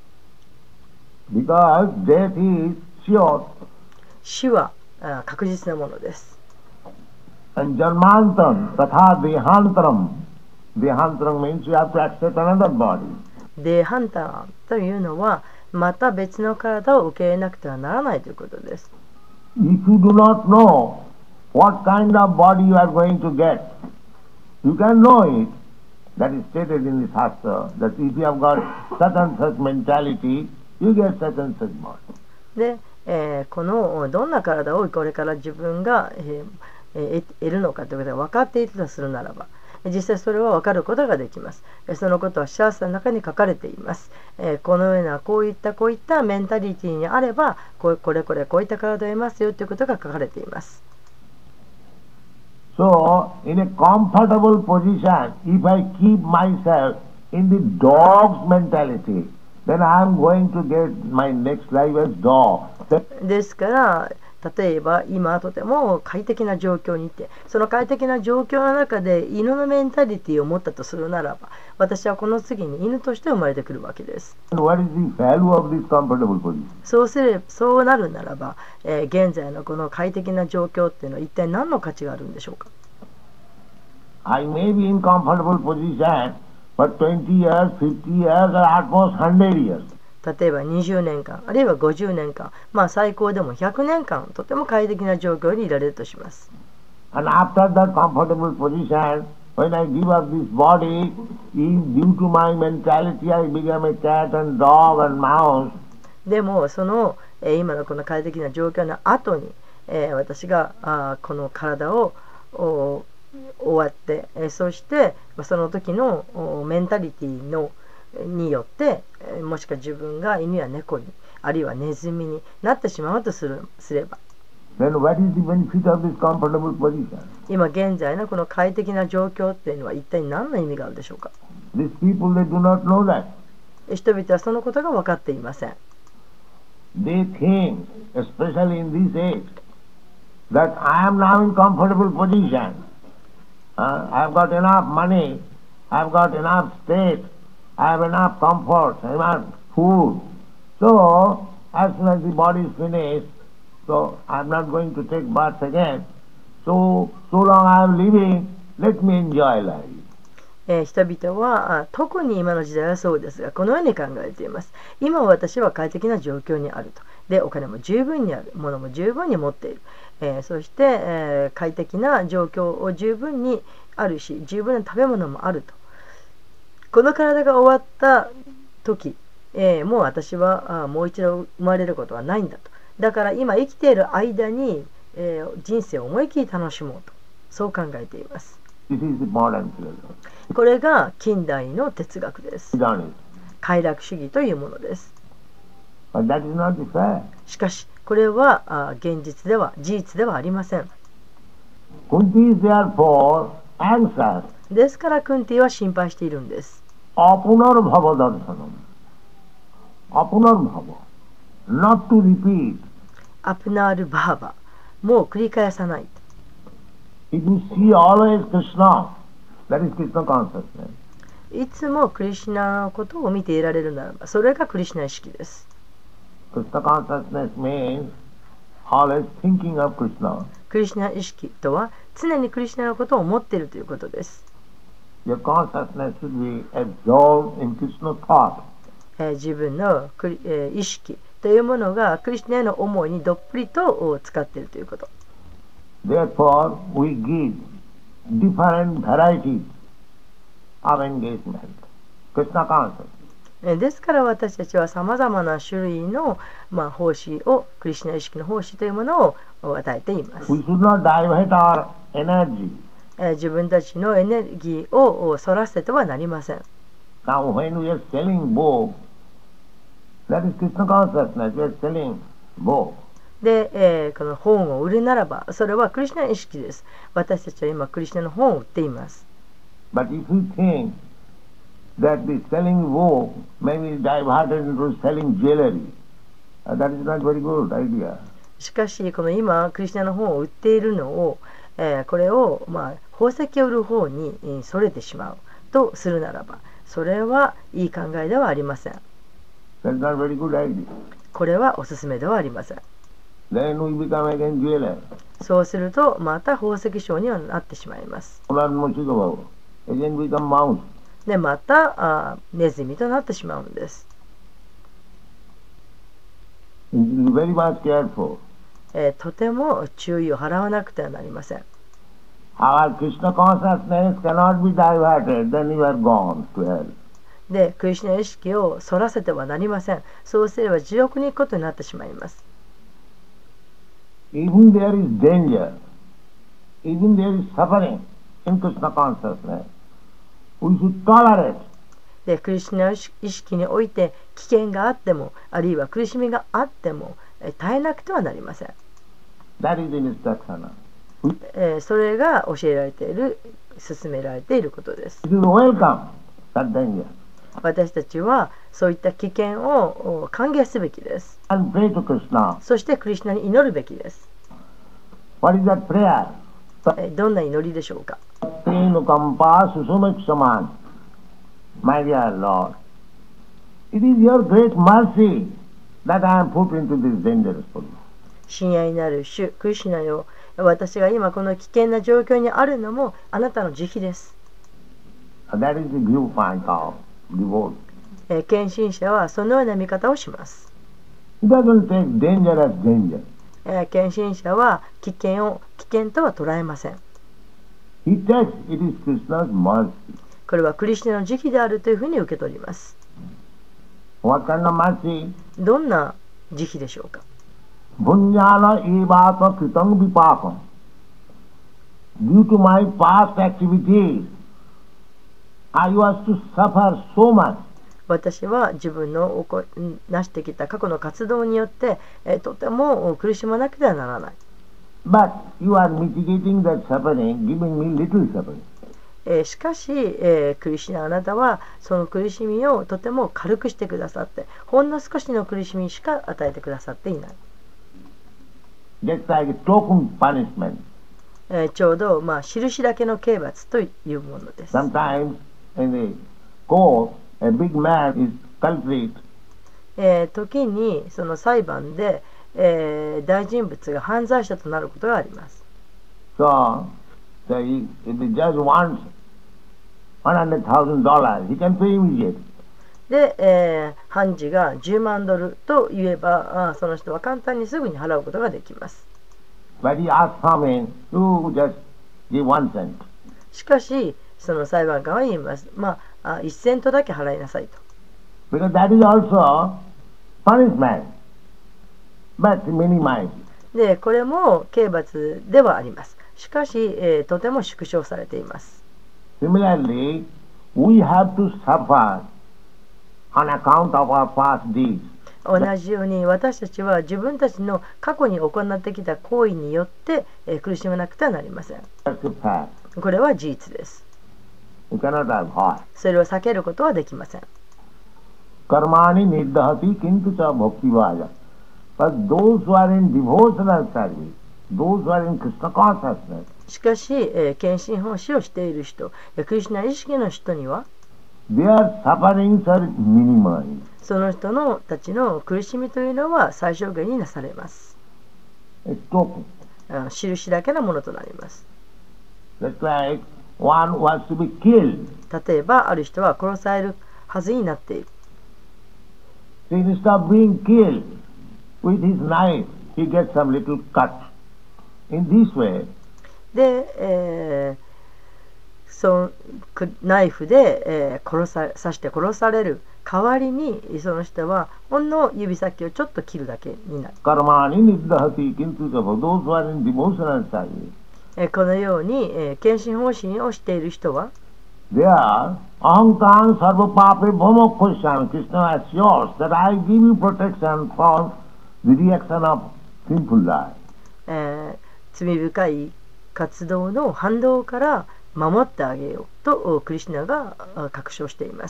Because death is sure 死はあ確実なものです。 and janmantam tatha dehantaram. Dehantaram means you have to accept another body. デーハンターというのはまた別の体を受け入れなくてはならないということです。 If you do not know what kind of body you are going to get, you can know it. That is stated in the Shastra, that if you have got such and such mentality, you get such and such body. で、えーこのどんな体をこれから自分が、えーえー得るのかということが分かっているとするならば、実際それは分かることができます。そのことはシャースタの中に書かれています。えー、このようなこういったこういったメンタリティにあればこれこれこれこういった体を得ますよということが書かれています。 So, in a comfortable position, if I keep myself in the dog's mentality, then I am going to get my next life as dog. ですから例えば今とても快適な状況にいて、その快適な状況の中で犬のメンタリティを持ったとするならば、私はこの次に犬として生まれてくるわけです。 What is the value of this comfortable position? そうすれそうなるならば、えー、現在のこの快適な状況っていうのは一体何の価値があるんでしょうか。 I may be in comfortable position for twenty years, fifty years, or at most one hundred years. 例えばにじゅうねんかんあるいはごじゅうねんかん、まあ最高でもひゃくねんかんとても快適な状況にいられるとします。 And after that comfortable position, when I give up this body, is due to my mentality, I become a cat and dog and mouse. でもその、えー、今のこの快適な状況の後に、えー、私があこの体を終わって、えー、そしてその時のメンタリティのによって、もしくは自分が犬や猫にあるいはネズミになってしまうとするすれば、 Then what is the benefit of this comfortable position? 今現在のこの快適な状況っていうのは一体何の意味があるでしょうか。 These people, they do not know that. 人々はそのことが分かっていません。 They think, especially in this age, that I am now in comfortable position. Uh, I've got enough money, I've got enough state, I have enough comfort, enough food. So, as soon as the body is finished, so I'm not going to take birth again. So, so long I am living, let me enjoy life. えー、人々はあ特に今の時代はそうですが、このように考えています。今私は快適な状況にあると。で、お金も十分にある。物も十分に持っている。えー、そして、えー、快適な状況を十分にあるし、十分な食べ物もあると。この体が終わった時、えー、もう私はあもう一度生まれることはないんだと。だから今生きている間に、えー、人生を思い切り楽しもうと。そう考えています。 This is the modern philosophy. これが近代の哲学です。 Done it. 快楽主義というものです。 But that is not the fact. しかし、これはあ現実では事実ではありません。 Kunti is therefore anxious. ですからクンティは心配しているんです。 Apunar bhava darshanam. Apunar bhava. Not to repeat. アプナールバーバ、もう繰り返さない。 If you see always Krishna, that is Krishna consciousness. いつもクリシュナのことを見ていられるならば、それがクリシュナ意識です。 Krishna consciousness means always thinking of Krishna. クリシュナ意識とは常にクリシュナのことを思っているということです。 Your consciousness should be absorbed in Krishna thought. えー自分のクリ、えー意識というものがクリシュナへの思いにどっぷりと使っているということ。 Therefore, we give different varieties of engagement. Krishna consciousness. えーですから私たちはさまざまな種類の、まあ、奉仕をクリシュナ意識の奉仕というものを与えています。 We should not divert our energy. えー自分たちのエネルギーをそらせてはなりません。 Now, when we are selling book, that is Krishna consciousness. We are selling book. で、えーこの本を売るならば、それはクリシュナ意識です。私たちは今クリシュナの本を売っています。 But if we think that the selling book may be diverted into selling jewelry, uh, that is not very good idea. しかし、この今クリシュナの本を売っているのを、えーこれを、まあ、宝石を売る方にえーそれてしまうとするならば、それはいい考えではありません。 That is not very good idea. これはおすすめではありません。 Then we become again jeweler. そうすると、また宝石商にはなってしまいます。 Again become mouse. で、またあネズミとなってしまうんです。 You should be very much careful. えーとても注意を払わなくてはなりません。 Our Krishna consciousness cannot be diverted, then you are gone to hell. で、クリシュナ意識をそらせてはなりません。そうすれば地獄に行くことになってしまいます。 Even there is danger even there is suffering in Krishna consciousness, we should tolerate. でクリシュナ意識において危険があっても、あるいは苦しみがあっても、え耐えなくてはなりません。 That is the instruction. えーそれが教えられている、勧められていることです。 It is welcome, that danger. 私たちはそういった危険をお歓迎すべきです。 And pray to Krishna. そしてクリシュナに祈るべきです。 What is that prayer? えーどんな祈りでしょうか。 Tenukampa susumeksaman. My dear Lord, it is your great mercy that I am put into this dangerous position. 親愛なる主クリシュナよ、私が今この危険な状況にあるのもあなたの慈悲です。 That is the viewpoint of devote. えー献身者はそのような見方をします。 He doesn't take danger as danger. えー献身者は危険を危険とは捉えません。 He takes it is Krishna's mercy. これはクリシュナの慈悲であるというふうに受け取ります。 What kind of mercy? どんな慈悲でしょうか。 Bhunyana evatma kritam vipakam. Due to my past activities, I was to suffer so much. 私は自分の起こ成してきた過去の活動によって、えーとても苦しまなくてはならない。 But you are mitigating that suffering, giving me little suffering. えーしかし、えークリシュナあなたはその苦しみをとても軽くしてくださって、ほんの少しの苦しみしか与えてくださっていない。 Just like a token punishment. えーちょうど、まあ、印だけの刑罰というものです。 Sometimes in the court, a big man is culprit. えー時にその裁判で、えー大人物が犯罪者となることがあります。 So, so he, if the judge wants one hundred thousand dollars, he can pay immediately. で、えー判事がじゅうまんドルと言えば、あその人は簡単にすぐに払うことができます。 But he asks from him, you just give one cent. しかし、その裁判官は言います。まあ、あいちセントだけ払いなさいと。 Because that is also punishment, but minimized. で、これも刑罰ではあります。しかし、えーとても縮小されています。 Similarly, we have to suffer on account of our past deeds. 同じように私たちは自分たちの過去に行ってきた行為によって、えー苦しまなくてはなりません。 That's a fact. これは事実です。 You cannot avoid. それを避けることはできません。 Karmani niddhati kintu cha bhakti vaja. But those who are in devotional service, those who are in Krishna consciousness, しかし、えー献身奉仕をしている人、えークリシュナ意識の人には、 their sufferings are minimized. その人のたちの苦しみというのは最小限になされます。 A token. あ印だけのものとなります。 Just like one wants to be killed. 例えば、ある人は殺されるはずになっている。 So instead of being killed with his knife, he gets some little cut. In this way, で、えーそくナイフで、えー殺さ刺して殺される代わりに、その人はほんの指先をちょっと切るだけになる。 karmani niddhati kintu cha bhakti. Those who are in devotional service, えーこのように、えー献身奉仕をしている人は、 they are ahankam sarva pape bhamakhosyan. Krishna assures that I give you protection from the reaction of sinful life. えー罪深い活動の反動から守ってあげようとクリシュナがあ確証しています。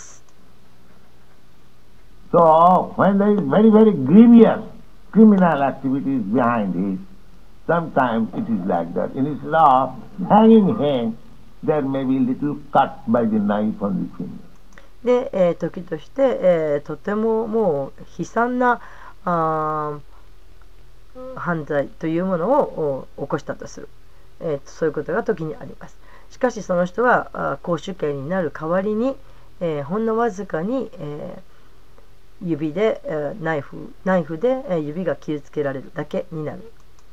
So, when there is very, very grievous criminal activities behind it, sometimes it is like that. Instead of hanging hand, there may be little cut by the knife on the finger. で、えー時として、えーとてももう悲惨なあー犯罪というものをお起こしたとする、えーそういうことが時にあります。しかしその人はあ公主刑になる代わりに、えーほんのわずかに、えー指で、えーナイフナイフで、えー指が傷つけられるだけになる。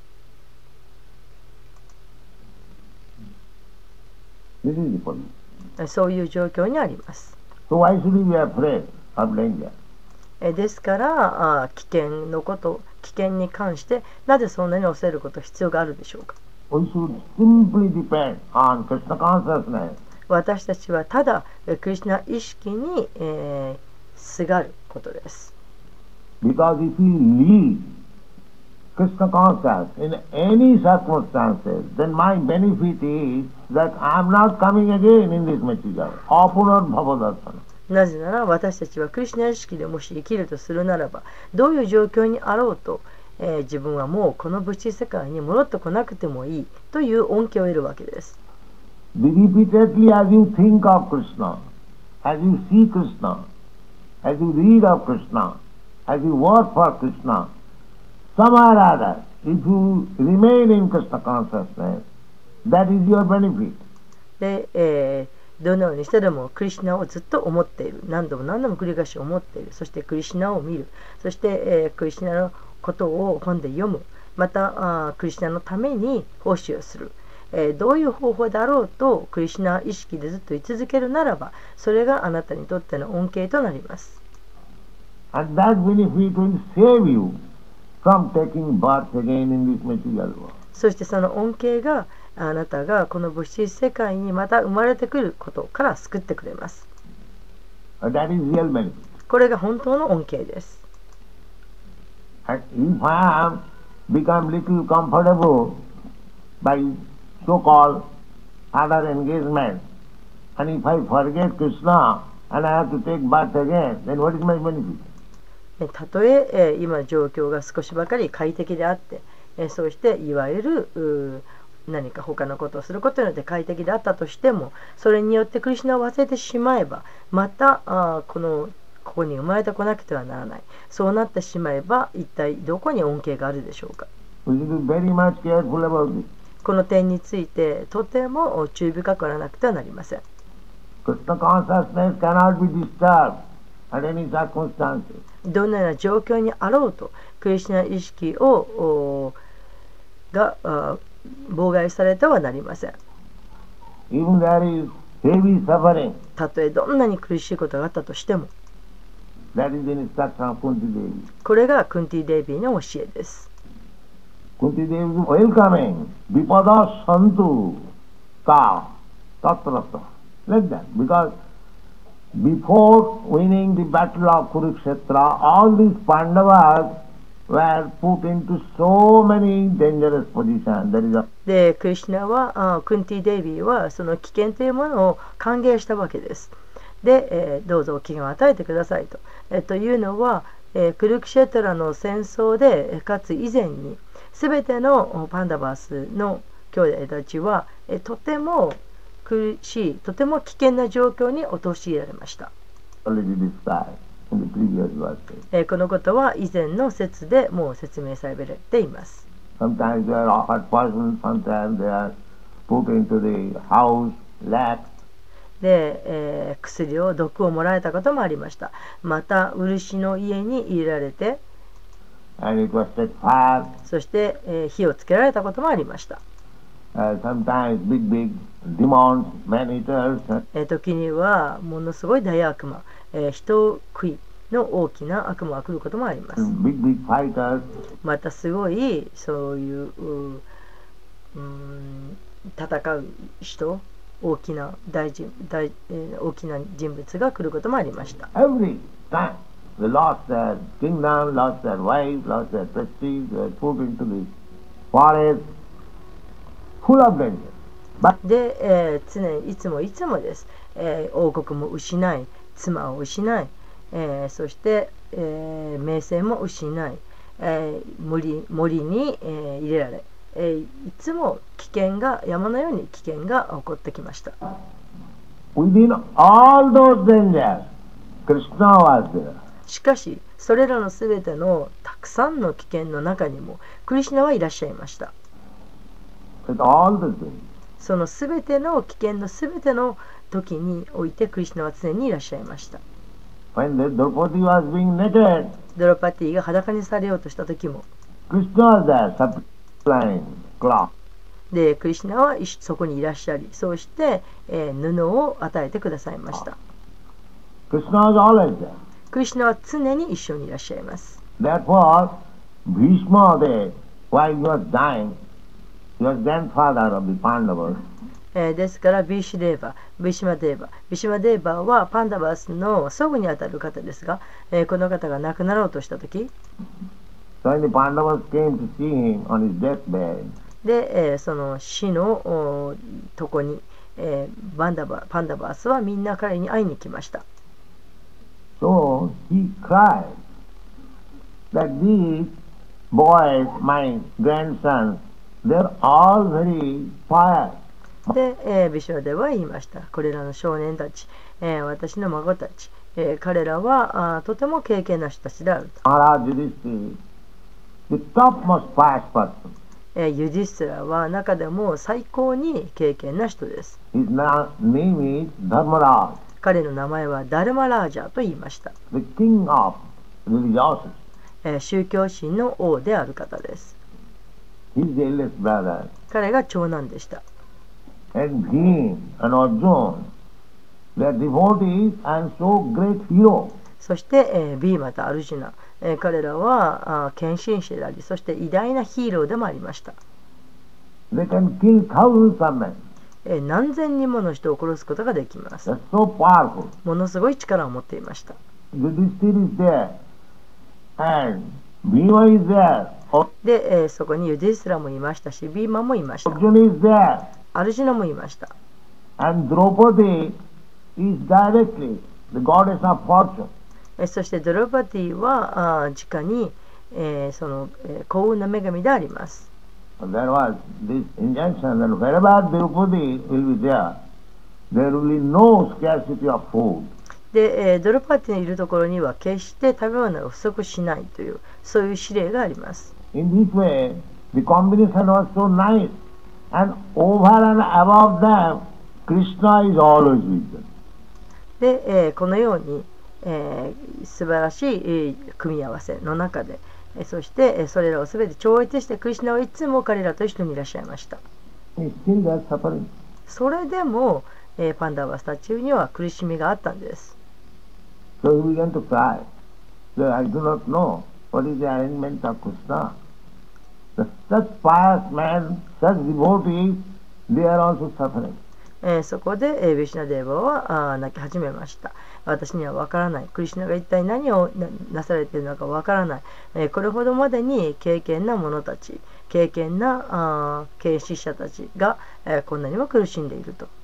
This is the point. えーそういう状況にあります。 So why should we be afraid of danger? えーですからあ危険のこと危険に関してなぜそんなに恐れること必要があるでしょうか。 We should simply depend on Krishna consciousness. 私たちはただクリシュナ意識に、えー、すがることです。 Because if we leave Krishna consciousness in any circumstances, then my benefit is that I am not coming again in this material. Apunar bhavadarsana. なぜなら私たちはクリシュナ意識でもし生きるとするならば、どういう状況にあろうと、えー、自分はもうこの物質世界に戻ってこなくてもいいという恩恵を得るわけです。 Repeatedly as you think of Krishna, as you see Krishna, as you read of Krishna, as you work for Krishna, somehow or other, if you remain in Krishna consciousness, that is your benefit. で、えーどのようにしてでもクリシュナをずっと思っている、何度も何度も繰り返し思っている、そしてクリシュナを見る、そして、えー、クリシュナのことを本で読む、またあクリシュナのために奉仕をする、えー、どういう方法であろうとクリシュナ意識でずっと居続けるならば、それがあなたにとっての恩恵となります。 And that benefit will save you from taking birth again in this material world. そしてその恩恵があなたがこの物質世界にまた生まれてくることから救ってくれます。 That is real benefit. これが本当の恩恵です。 And if I am become little comfortable by so-called other engagement, and if I forget Krishna and I have to take birth again, then what is my benefit? たとええー、今状況が少しばかり快適であって、えー、そうしていわゆる何か他のことをすることによって快適であったとしても、それによってクリシュナを忘れてしまえば、またあこのここに生まれてこなくてはならない。そうなってしまえば一体どこに恩恵があるでしょうか。 We should be very much careful about this. この点についてとても注意深くならなくてはなりません。 Krishna consciousness cannot be disturbed at any circumstances. どのような状況にあろうとクリシュナ意識をが妨害されてはなりません。 Even there is heavy suffering. たとえどんなに苦しいことがあったとしても、 That is the instruction of Kunti Devi. これがクンティ・デイビーの教えです。 Kunti Devi is welcoming Vipada Santu Ka Tatrata. Like that. Because before winning the battle of Kurukshetra, all these Pandavas were put into so many dangerous positions. There is a で、クリシュナはあクンティ・デイビーはその危険というものを歓迎したわけです。で、えー、どうぞ危険を与えてくださいと。えー、というのは、えー、クルクシェトラの戦争でかつ以前に全てのパンダバースの兄弟たちは、えー、とても苦しい、とても危険な状況に陥られました。えー、このことは以前の説でもう説明されています。 Sometimes they are offered poison, sometimes they are put into the house, lack. で、えー、薬を毒をもらえたこともありました。また漆の家に入れられて、 And it was set fire. そして、えー、火をつけられたこともありました。 Uh, sometimes big big demons, man eaters. えー、時にはものすごい大悪魔、えー、人食いの大きな悪魔が来ることもあります。 Big big fighters. またすごいそういう、うーん、戦う人、大きな大人大、えー、大きな人物が来ることもありました。 Every time they lost their kingdom, lost their wife, lost their prestige, they were put into the forest, full of danger. But で、えー、常にいつもいつもです。えー、王国も失い、妻を失い、えー、そして、えー、名声も失い、えー、森, 森に、えー、入れられ、えー、いつも危険が山のように危険が起こってきました。 within all those dangers, Krishna was there. しかしそれらのすべてのたくさんの危険の中にもクリシュナはいらっしゃいました。 With all the things. そのすべての危険のすべての時においてクリシュナは常にいらっしゃいました。 When the Draupadi was being naked, ドロパティが裸にされようとした時も Krishna was there, supplying cloth. でクリシュナはそこにいらっしゃり、そうして、えー、布を与えてくださいました。 Krishna was always there. クリシュナは常に一緒にいらっしゃいます。 Therefore, Bhishma, they, while he was dying, He was grandfather of the Pandavas. えーですからビーシュデーバ、ビシマデーバ、ビシマデーバはパンダバスの祖父にあたる方ですが、えーこの方が亡くなろうとした時 So when the Pandavas came to see him on his deathbed, で、えーその死のおとこに、えーバンダバパンダバスはみんな彼に会いに来ました。 so he cried that these boys, my grandsons, they're all very pious. で、えービシュワデは言いました。これらの少年たち、えー私の孫たち、えー彼らはあとても敬虔な人たちであると。 Maharaj Yudhishthira, the topmost pious person. えーユディスティラは中でも最高に敬虔な人です。 His na- name is Dharmaraj, 彼の名前はダルマラージャと言いました。 the king of religiosity. えー宗教心の王である方です。 His eldest brother. 彼が長男でした。 And Bhim and Arjun, they are devotees and so great heroes. そして、えービーマとアルジュナ、えー彼らはあー献身者であり、そして偉大なヒーローでもありました。 They can kill thousands of men. えー何千人もの人を殺すことができます。 They're so powerful. ものすごい力を持っていました。 Yudhishthira is there. And Bhima is there. で、えーそこにユディスティラもいましたし、ビーマもいました。 Arjun is there. アルジュナもいました。 And Draupadi is directly the goddess of fortune. えーそしてドロパティはあー直に、えーその、えー幸運の女神であります。 And there was this injunction that wherever Draupadi will be there, there will be no scarcity of food. で、えードロパティのいるところには決して食べ物が不足しないというそういう指令があります。 In this way, the combination was so nice. And over and above them, Krishna is always with them. で、えーこのように、えー素晴らしい、えー組み合わせの中で、えーそして、えーそれらをすべて超越してクリシュナはいつも彼らと一緒にいらっしゃいました。 He still was suffering. それでも、えーパンダバスタチューには苦しみがあったんです。 So he began to cry. So I do not know what is the arrangement of Krishna. The, such pious men, such devotees, they are also suffering. えーそこで、えービシュナデーバはあー泣き始めました。私には分からない。クリシュナが一体何を な, なされているのか分からない。えーこれほどまでに敬虔な者たち、敬虔なあー敬視者たちが、えーこんなにも苦しんでいると。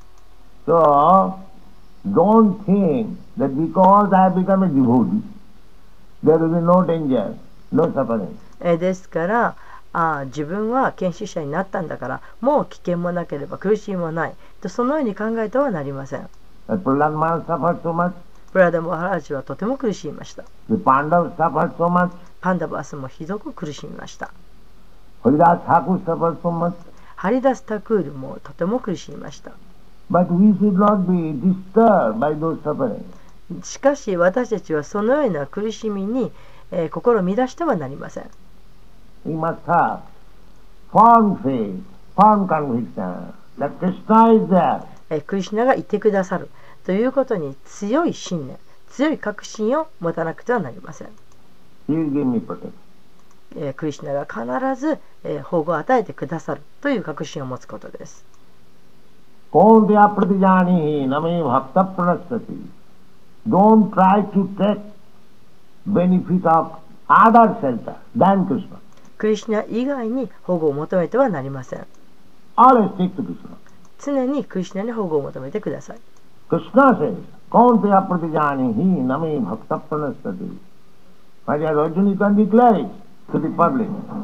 So, don't think that because I have become a devotee, there will be no danger, no suffering. えーですからあー自分は献身者になったんだからもう危険もなければ苦しみもないとそのように考えてはなりません。 That Prahlad Maharaj suffered so much, プラダマハラージはとても苦しみました。 the Pandavas suffered so much, パンダバスもひどく苦しみました。 Haridas Thakur suffered so much. ハリダスタクールもとても苦しみました。 But we should not be disturbed by those sufferings. しかし私たちはそのような苦しみに、えー心を乱してはなりません。 We must have firm faith, firm conviction that Krishna is there. えークリシュナがいてくださるということに強い信念、強い確信を持たなくてはなりません。 He will give me protection. えークリシュナが必ず、えー保護を与えてくださるという確信を持つことです。 Kaunteya pratijanihi name bhakta pranasati. Don't try to take benefit of other shelter than Krishna. クリシュナ以外に保護を求めてはなりません。 Always stick to Krishna. 常にクリシュナに保護を求めてください。 Krishna says, Kaunteya pratijanihi name bhakta pranasati. My dear Arjuna, you can declare it to the public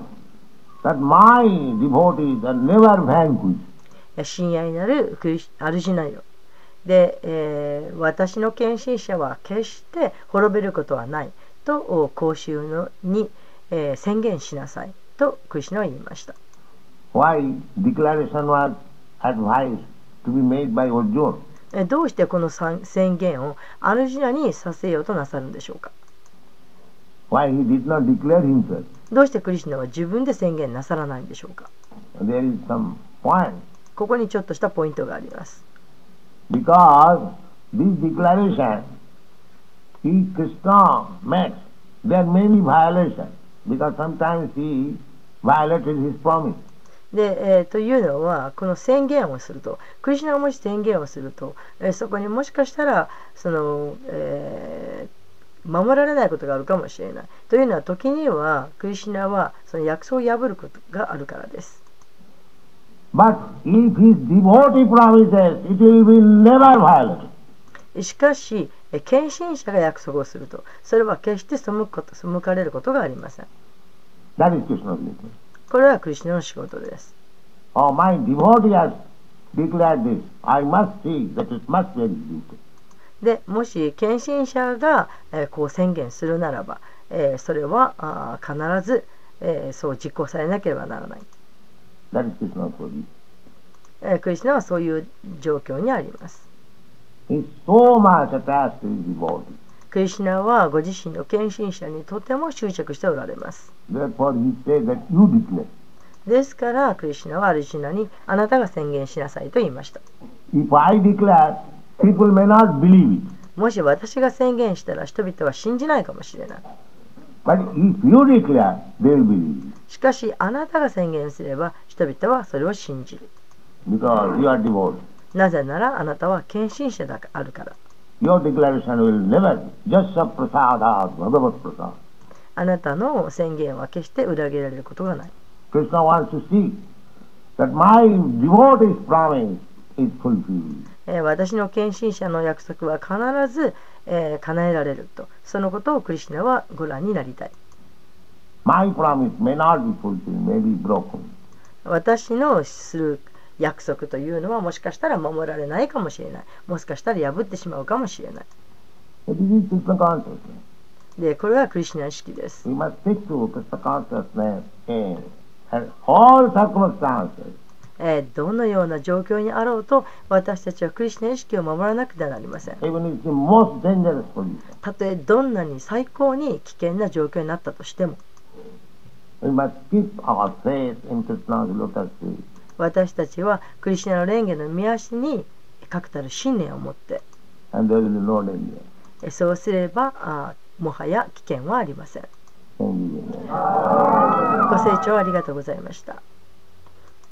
that my devotees are never vanquished. 親愛なるクリシアルジュナよ。で、えー私の献身者は決して滅びることはないと公衆のに、えー宣言しなさいとクリシュナは言いました。 Why declaration was advised to be made by Arjuna? えーどうしてこのさん宣言をアルジュナにさせようとなさるんでしょうか。 Why he did not declare himself? どうしてクリシュナは自分で宣言なさらないんでしょうか。 There is some point. ここにちょっとしたポイントがあります。 Because this declaration, he Krishna makes, there are many violations. Because sometimes he violated his promise. で、えー、というのはこの宣言をすると、クリシュナがもし宣言をすると、えー、そこにもしかしたらその、えー、守られないことがあるかもしれない。というのは時にはクリシュナはその約束を破ることがあるからです。 But if his devotee promises, it will be never violated. しかし、献身者が約束をすると、それは決して背くこと、背かれることがありません。 That is Krishna's duty. これはクリシュナの仕事です。 Oh, my devotee has declared this. I must see that it must be executed. で、もし献身者が、えー、こう宣言するならば、えー、それはあ必ず、えー、そう実行されなければならない。 That is Krishna's position. えー、クリシュナはそういう状況にあります。 He is so much attached to his devotee. クリシュナはご自身の献身者にとても執着しておられます。 Therefore, he said that you declare. ですからクリシュナはアルジュナにあなたが宣言しなさいと言いました。 If I declare, people may not believe it. もし私が宣言したら人々は信じないかもしれない。 But if you declare, they will believe it. しかしあなたが宣言すれば人々はそれを信じる。 Because you are devotee. なぜならあなたは献身者であるから。 Your declaration will never be just a prasada, Bhagavat prasada. あなたの宣言は決して裏切られることがない。 Krishna wants to see that my devotee's promise is fulfilled. えー、私の献身者の約束は必ず、えー、叶えられると、そのことをクリシュナはご覧になりたい。 My promise may not be fulfilled, may be broken. 私のする約束というのはもしかしたら守られないかもしれない。もしかしたら破ってしまうかもしれない。 It is Krishna consciousness. で、これはクリシュナ意識です。 We must stick to Krishna consciousness in all circumstances. えー、どのような状況にあろうと私たちはクリシュナ意識を守らなくてはなりません。 Even if the most dangerous position. たとえどんなに最高に危険な状況になったとしても、 We must keep our faith in Krishna's lotus feet. 私たちはクリシュナの蓮華の御足に確たる信念を持って、 And there will be no danger. えそうすればあもはや危険はありません。 Thank you. ご清聴ありがとうございました。